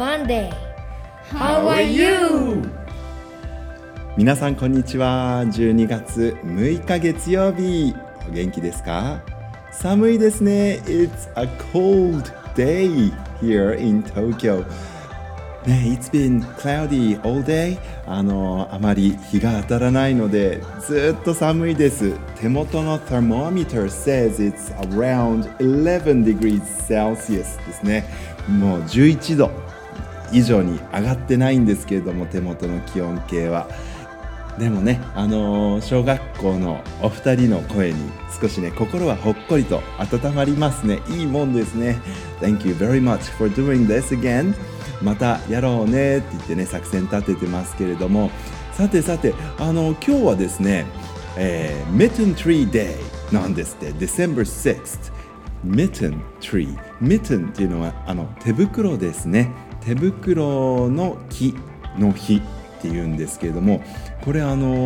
Monday. How are you? 皆さんこんにちは。12月6日月曜日、お元気ですか？寒いですね。It's a cold day here in Tokyo. ね、It's been cloudy all day. あまり日が当たらないのでずっと寒いです。手元の thermometer says it's around 11 degrees Celsius ですね。もう11度以上に上がってないんですけれども、手元の気温計は。でもね、小学校のお二人の声に少しね、心はほっこりと温まりますね。いいもんですね。Thank you very much for doing this again. またやろうねって言ってね、作戦立ててますけれども、さて今日はですね、Mitten Tree Day なんですって。December 6th Mitten Tree Mitten っていうのは手袋ですね。手袋の木の日っていうんですけれども、これThe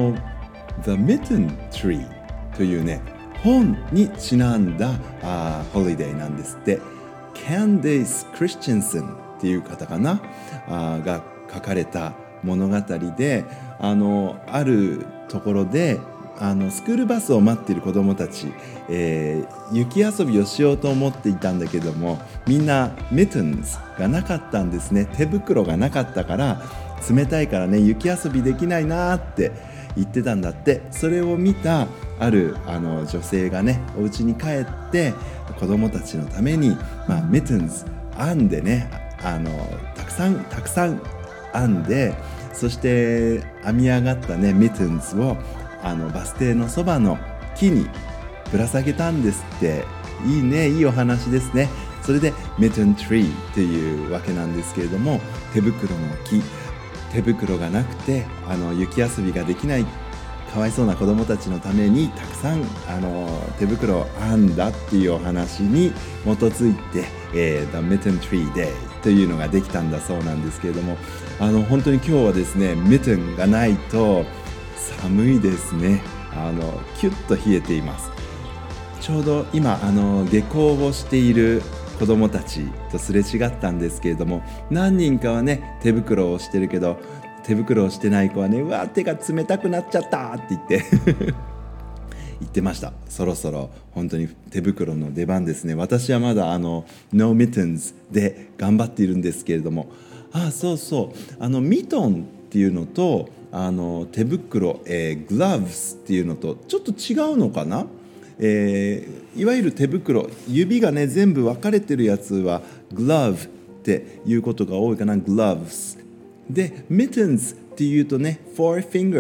Mitten Tree というね、本にちなんだホリデーなんですって。Candace Christensen っていう方かなが書かれた物語で、あるところでスクールバスを待っている子どもたち、雪遊びをしようと思っていたんだけども、みんな mittens がなかったんですね。手袋がなかったから冷たいからね、雪遊びできないなって言ってたんだって。それを見たある女性がね、お家に帰って子どもたちのために、mittens 編んでね、たくさん編んで、そして編み上がったね mittens をバス停のそばの木にぶら下げたんですって。いいね、いいお話ですね。それで Mitten Tree というわけなんですけれども、手袋の木、手袋がなくて雪遊びができないかわいそうな子どもたちのためにたくさん手袋を編んだっていうお話に基づいて、The Mitten Tree Day というのができたんだそうなんですけれども、本当に今日はですね、Mitten がないと寒いですね。キュッと冷えています。ちょうど今下校をしている子どもたちとすれ違ったんですけれども、何人かはね手袋をしてるけど、手袋をしてない子はね、うわ手が冷たくなっちゃったって言って言ってました。そろそろ本当に手袋の出番ですね。私はまだNo Mittens で頑張っているんですけれども、ミトンっていうのと手袋、gloves っていうのとちょっと違うのかな。いわゆる手袋、指がね全部分かれてるやつは glove っていうことが多いかな。 gloves で mittens っていうとね four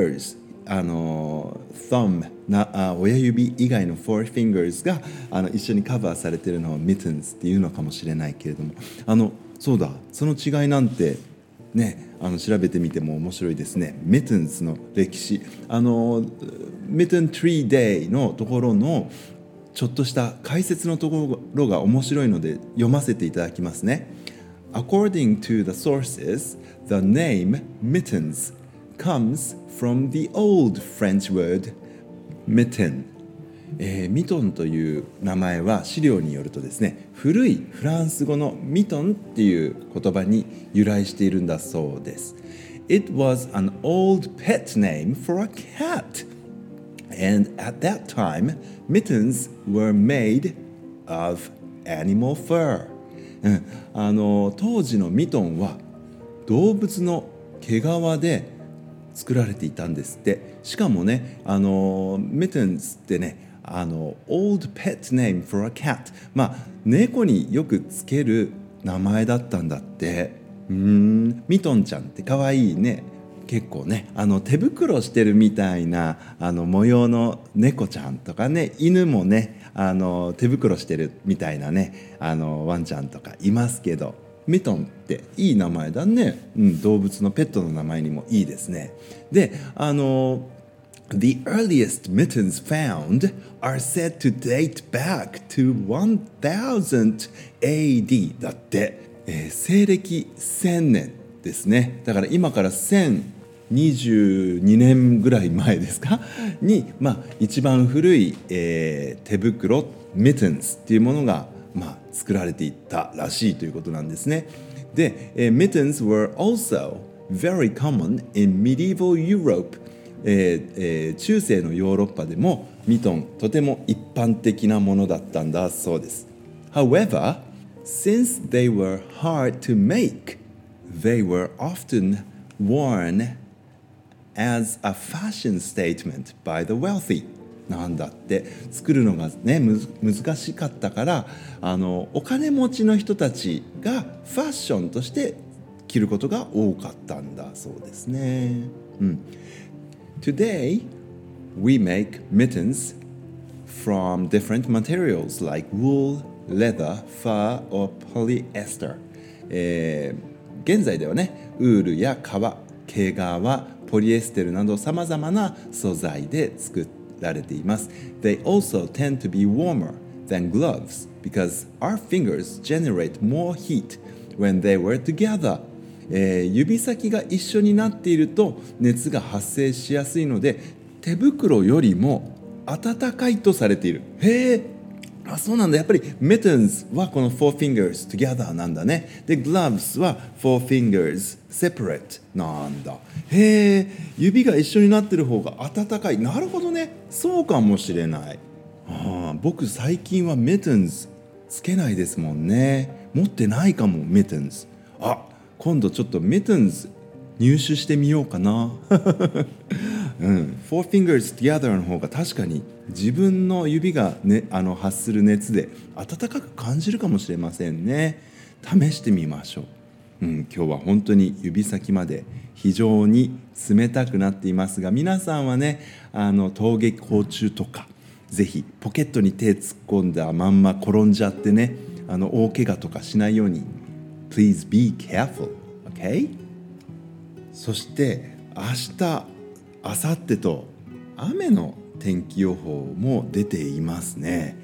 fingers、thumb 親指以外の four fingers が一緒にカバーされてるのを mittens っていうのかもしれないけれども、そうだ、その違いなんてね、調べてみても面白いですね。Mittens の歴史、Mitten Tree Day のところのちょっとした解説のところが面白いので読ませていただきますね。According to the sources, the name mittens comes from the old French word mitten。ミトンという名前は資料によるとですね、古いフランス語のミトンっていう言葉に由来しているんだそうです。It was an old pet name for a cat, and at that time, mittens were made of animal fur。当時のミトンは動物の毛皮で作られていたんですって。しかもね、mittens ってね、old pet name for a cat、猫によくつける名前だったんだって。ミトンちゃんってかわいいね。結構ね、手袋してるみたいな模様の猫ちゃんとかね、犬もね手袋してるみたいなねワンちゃんとかいますけど、ミトンっていい名前だね。動物のペットの名前にもいいですね。でThe earliest mittens found are said to date back to 1000 AD だって、西暦1000年ですね。だから今から1022年ぐらい前ですかに、一番古い、手袋 mittens っていうものが、作られていったらしいということなんですね。 で、mittens were also very common in medieval Europe、中世のヨーロッパでもミトンとても一般的なものだったんだそうです。However, since they were hard to make, they were often worn as a fashion statement by the wealthy。なんだって作るのがね難しかったからお金持ちの人たちがファッションとして着ることが多かったんだそうですね。Today, we make mittens from different materials like wool, leather, fur, or polyester、現在ではねウールや革、毛皮、ポリエステルなどさまざまな素材で作られています。They also tend to be warmer than gloves because our fingers generate more heat when they were together。指先が一緒になっていると熱が発生しやすいので手袋よりも暖かいとされている。へえ、そうなんだ。やっぱり mittens はこの four fingers together なんだね。で gloves は four fingers separate なんだ。へえ、指が一緒になってる方が暖かい。なるほどね。そうかもしれない。僕最近は mittens つけないですもんね。持ってないかも mittens。今度ちょっと mittens 入手してみようかな。Four fingers together の方が確かに自分の指が、ね、発する熱で暖かく感じるかもしれませんね。試してみましょう。今日は本当に指先まで非常に冷たくなっていますが、皆さんはね登下校中とかぜひポケットに手突っ込んだまんま転んじゃってね大怪我とかしないようにPlease be careful, okay? そして明日、明後日と雨の天気予報も出ていますね。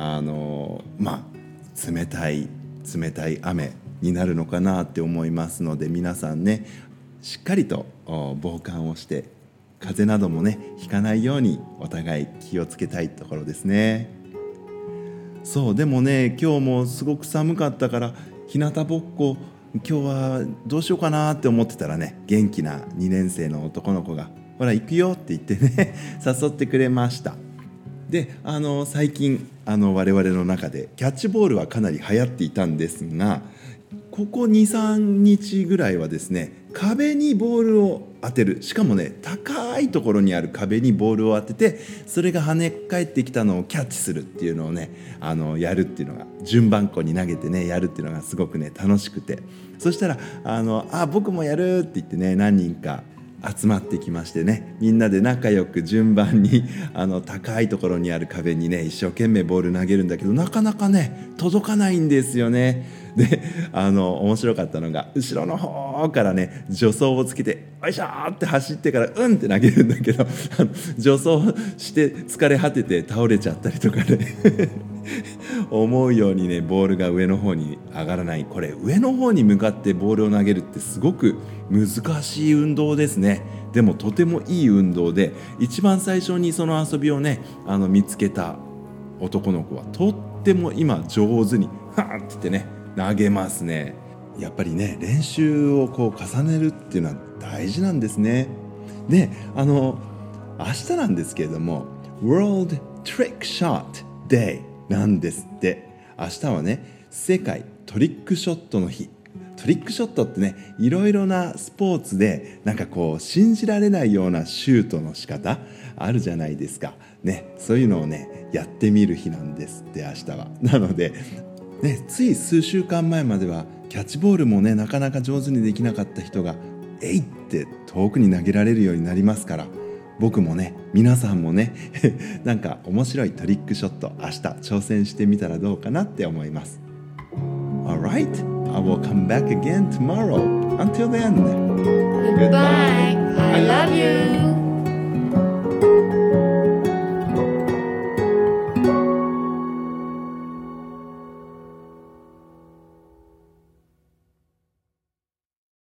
冷たい雨になるのかなって思いますので、皆さんねしっかりと防寒をして風邪などもねひかないようにお互い気をつけたいところですね。そうでもね今日もすごく寒かったから日向ぼっこ今日はどうしようかなって思ってたらね元気な2年生の男の子がほら行くよって言ってね誘ってくれました。で最近我々の中でキャッチボールはかなり流行っていたんですがここ 2,3 日ぐらいはですね壁にボールを当てる、しかもね高いところにある壁にボールを当ててそれが跳ね返ってきたのをキャッチするっていうのをねやるっていうのが順番こに投げてねやるっていうのがすごくね楽しくて、そしたら僕もやるって言ってね何人か集まってきましてねみんなで仲良く順番に高いところにある壁にね一生懸命ボール投げるんだけどなかなかね届かないんですよね。で面白かったのが後ろの方からね助走をつけてよいしょーって走ってからって投げるんだけど助走して疲れ果てて倒れちゃったりとかね思うようにねボールが上の方に上がらない。これ上の方に向かってボールを投げるってすごく難しい運動ですね。でもとてもいい運動で一番最初にその遊びをね見つけた男の子はとっても今上手にって言ってね投げますね。やっぱりね練習をこう重ねるっていうのは大事なんですね。で明日なんですけれども World Trick Shot Day なんですって。明日はね世界トリックショットの日。トリックショットってねいろいろなスポーツでなんかこう信じられないようなシュートの仕方あるじゃないですかね。そういうのをねやってみる日なんですって明日は。なのでつい数週間前まではキャッチボールもねなかなか上手にできなかった人がえいって遠くに投げられるようになりますから、僕もね皆さんもねなんか面白いトリックショット明日挑戦してみたらどうかなって思います。 Alright, I will come back again tomorrow. Until then, Goodbye. I love you.